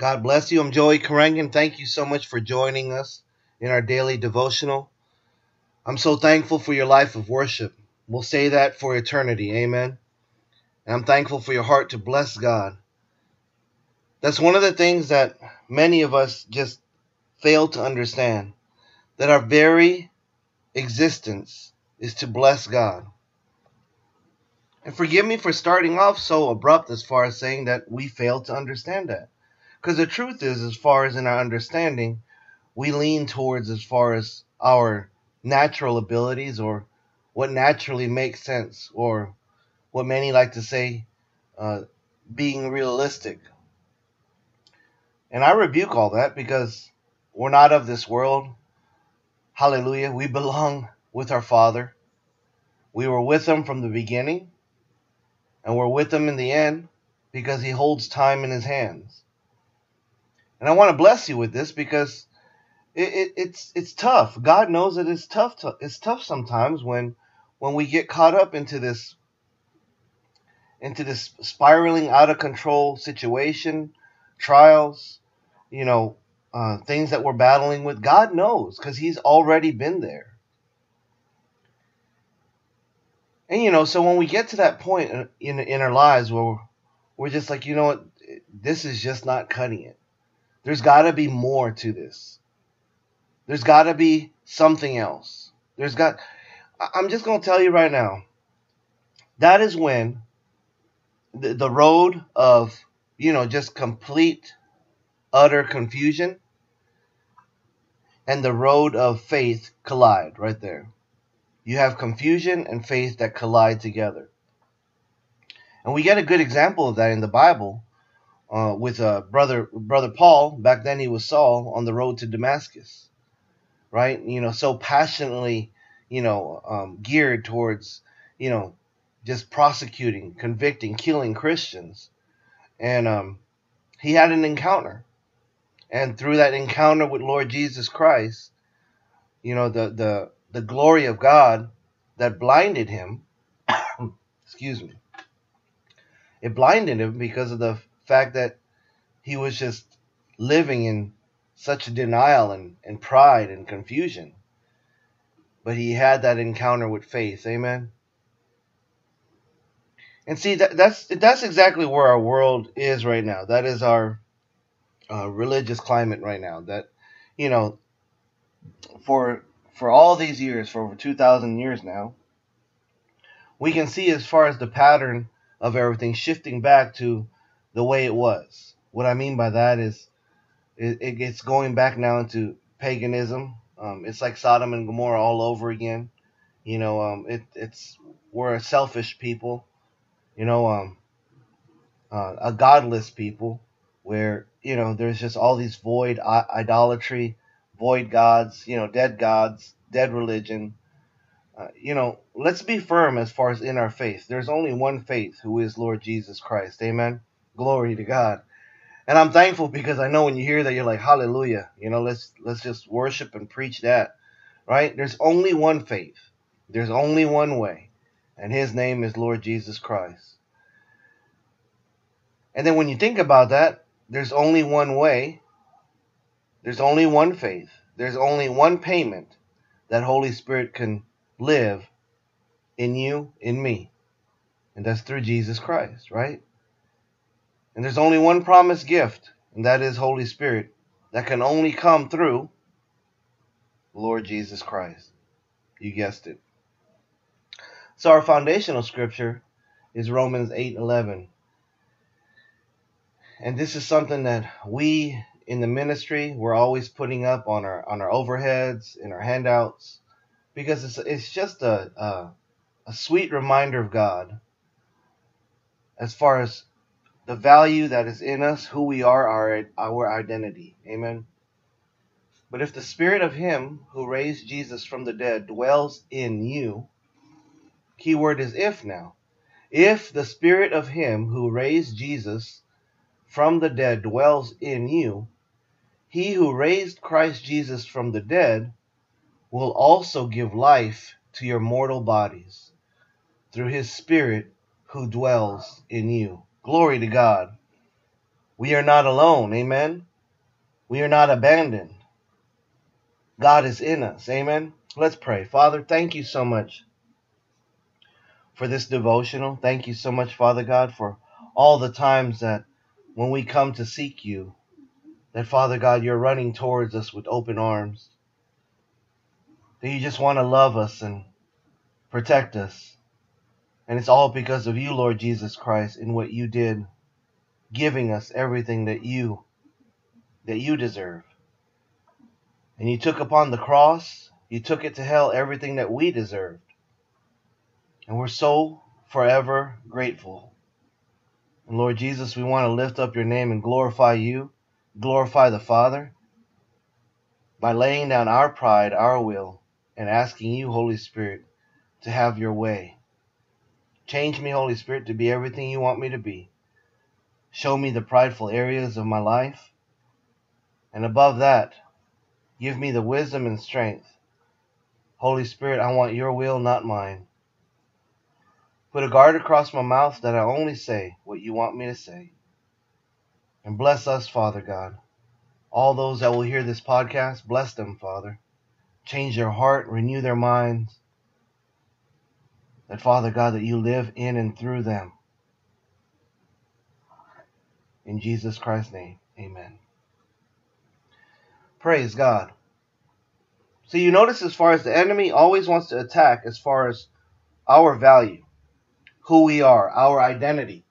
God bless you. I'm Joey Karangan. Thank you so much for joining us in our daily devotional. I'm so thankful for your life of worship. We'll say that for eternity. Amen. And I'm thankful for your heart to bless God. That's one of the things that many of us just fail to understand, that our very existence is to bless God. And forgive me for starting off so abrupt as far as saying that we fail to understand that. Because the truth is, as far as in our understanding, we lean towards as far as our natural abilities or what naturally makes sense, or what many like to say, being realistic. And I rebuke all that because we're not of this world. Hallelujah. We belong with our Father. We were with Him from the beginning, and we're with Him in the end because He holds time in His hands. And I want to bless you with this because it's tough. God knows that it's tough. It's tough sometimes when we get caught up into this spiraling out of control situation, trials, things that we're battling with. God knows because He's already been there. And so when we get to that point in our lives where we're just like, you know what, this is just not cutting it. There's got to be more to this. There's got to be something else. I'm just going to tell you right now, that is when the road of, just complete, utter confusion and the road of faith collide right there. You have confusion and faith that collide together. And we get a good example of that in the Bible with brother Paul. Back then he was Saul on the road to Damascus, right? So passionately, geared towards, just prosecuting, convicting, killing Christians. And he had an encounter. And through that encounter with Lord Jesus Christ, the glory of God that blinded him, excuse me, it blinded him because of the fact that he was just living in such denial and pride and confusion. But he had that encounter with faith. Amen. And see, that's exactly where our world is right now. That is our religious climate right now. That, for all these years, for over 2,000 years now, we can see as far as the pattern of everything shifting back to the way it was. What I mean by that is it's going back now into paganism. It's like Sodom and Gomorrah all over again. We're a selfish people. A godless people, where there's just all these void idolatry, void gods, dead religion. Let's be firm as far as in our faith. There's only one faith, who is Lord Jesus Christ. Amen. Glory to God. And I'm thankful because I know when you hear that, you're like, hallelujah. Let's just worship and preach that, right? There's only one faith. There's only one way, and His name is Lord Jesus Christ. And then when you think about that, there's only one way. There's only one faith. There's only one payment that Holy Spirit can live in you, in me. And that's through Jesus Christ, right? And there's only one promised gift, and that is Holy Spirit, that can only come through Lord Jesus Christ. You guessed it. So our foundational scripture is Romans 8:11. And this is something that we in the ministry, we're always putting up on our overheads, in our handouts, because it's just a sweet reminder of God as far as the value that is in us, who we are, our identity. Amen. But if the Spirit of Him who raised Jesus from the dead dwells in you, keyword is if now. If the Spirit of Him who raised Jesus from the dead dwells in you, He who raised Christ Jesus from the dead will also give life to your mortal bodies through His Spirit who dwells in you. Glory to God. We are not alone. Amen. We are not abandoned. God is in us. Amen. Let's pray. Father, thank you so much for this devotional. Thank you so much, Father God, for all the times that when we come to seek you, that, Father God, you're running towards us with open arms. That you just want to love us and protect us. And it's all because of you, Lord Jesus Christ, and what you did, giving us everything that you deserve. And you took upon the cross, you took it to hell, everything that we deserved. And we're so forever grateful. And Lord Jesus, we want to lift up your name and glorify you, glorify the Father, by laying down our pride, our will, and asking you, Holy Spirit, to have your way. Change me, Holy Spirit, to be everything you want me to be. Show me the prideful areas of my life. And above that, give me the wisdom and strength. Holy Spirit, I want your will, not mine. Put a guard across my mouth that I only say what you want me to say. And bless us, Father God. All those that will hear this podcast, bless them, Father. Change their heart, renew their minds. That, Father God, that you live in and through them. In Jesus Christ's name, amen. Praise God. So you notice, as far as the enemy always wants to attack as far as our value, who we are, our identity.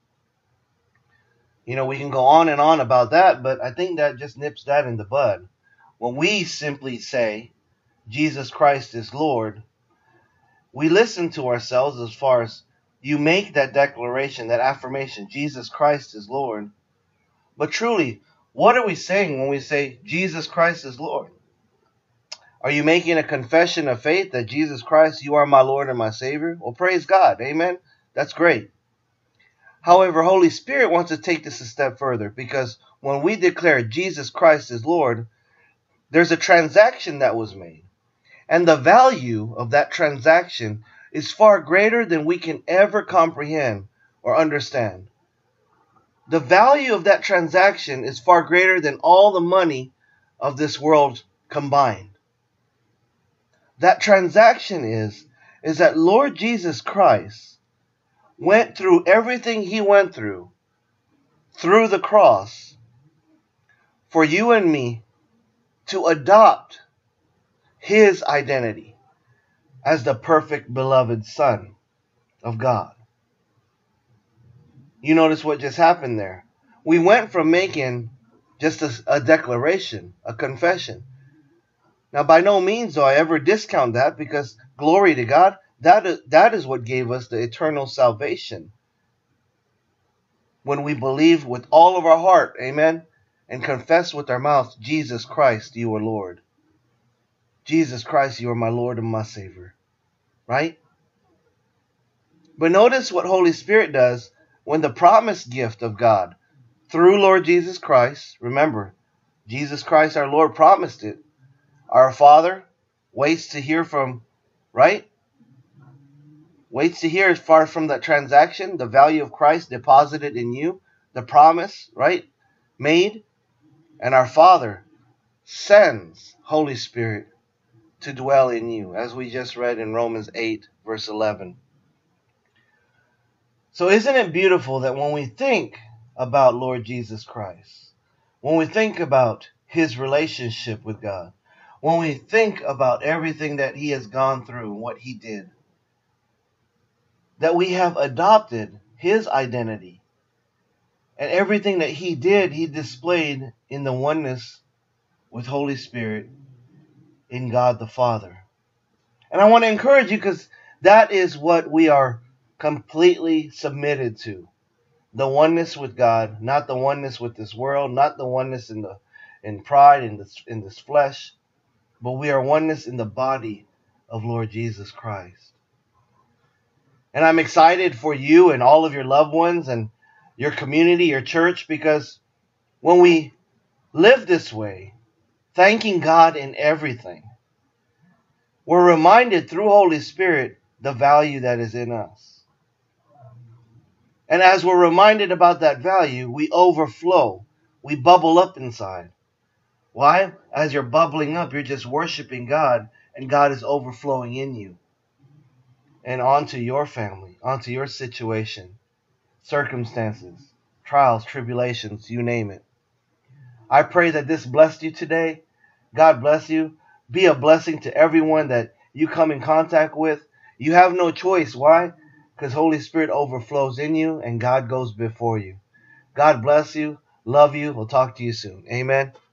You know, we can go on and on about that, but I think that just nips that in the bud. When we simply say, Jesus Christ is Lord, we listen to ourselves as far as you make that declaration, that affirmation, Jesus Christ is Lord. But truly, what are we saying when we say Jesus Christ is Lord? Are you making a confession of faith that Jesus Christ, you are my Lord and my Savior? Well, praise God. Amen. That's great. However, Holy Spirit wants to take this a step further, because when we declare Jesus Christ is Lord, there's a transaction that was made. And the value of that transaction is far greater than we can ever comprehend or understand. The value of that transaction is far greater than all the money of this world combined. That transaction is that Lord Jesus Christ went through everything he went through the cross for you and me to adopt his identity as the perfect beloved Son of God. You notice what just happened there. We went from making just a declaration, a confession. Now, by no means do I ever discount that, because glory to God, that is what gave us the eternal salvation. When we believe with all of our heart, amen, and confess with our mouth, Jesus Christ, you are Lord. Jesus Christ, you are my Lord and my Savior. Right? But notice what Holy Spirit does when the promised gift of God through Lord Jesus Christ, remember, Jesus Christ our Lord promised it. Our Father waits to hear from, right? Waits to hear as far from that transaction, the value of Christ deposited in you, the promise, right? Made. And our Father sends Holy Spirit to dwell in you, as we just read in Romans 8, verse 11. So isn't it beautiful that when we think about Lord Jesus Christ, when we think about his relationship with God, when we think about everything that he has gone through and what he did, that we have adopted his identity, and everything that he did, he displayed in the oneness with Holy Spirit in God the Father. And I want to encourage you, because that is what we are completely submitted to. The oneness with God, not the oneness with this world, not the oneness in pride, in this flesh, but we are oneness in the body of Lord Jesus Christ. And I'm excited for you and all of your loved ones and your community, your church, because when we live this way, thanking God in everything, we're reminded through Holy Spirit the value that is in us. And as we're reminded about that value, we overflow. We bubble up inside. Why? As you're bubbling up, you're just worshiping God, and God is overflowing in you and onto your family, onto your situation, circumstances, trials, tribulations, you name it. I pray that this blessed you today. God bless you. Be a blessing to everyone that you come in contact with. You have no choice. Why? Because Holy Spirit overflows in you and God goes before you. God bless you. Love you. We'll talk to you soon. Amen.